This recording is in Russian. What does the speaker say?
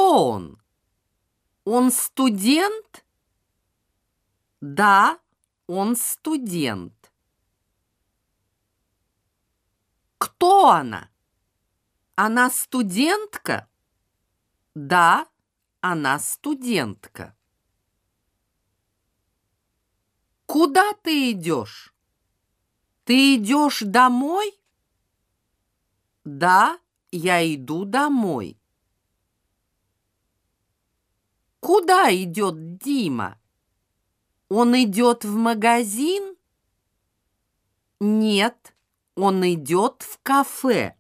Кто он? Он студент? Да, он студент. Кто она? Она студентка? Да, она студентка. Куда ты идешь? Ты идешь домой? Да, я иду домой. Куда идет Дима? Он идет в магазин? Нет, он идет в кафе.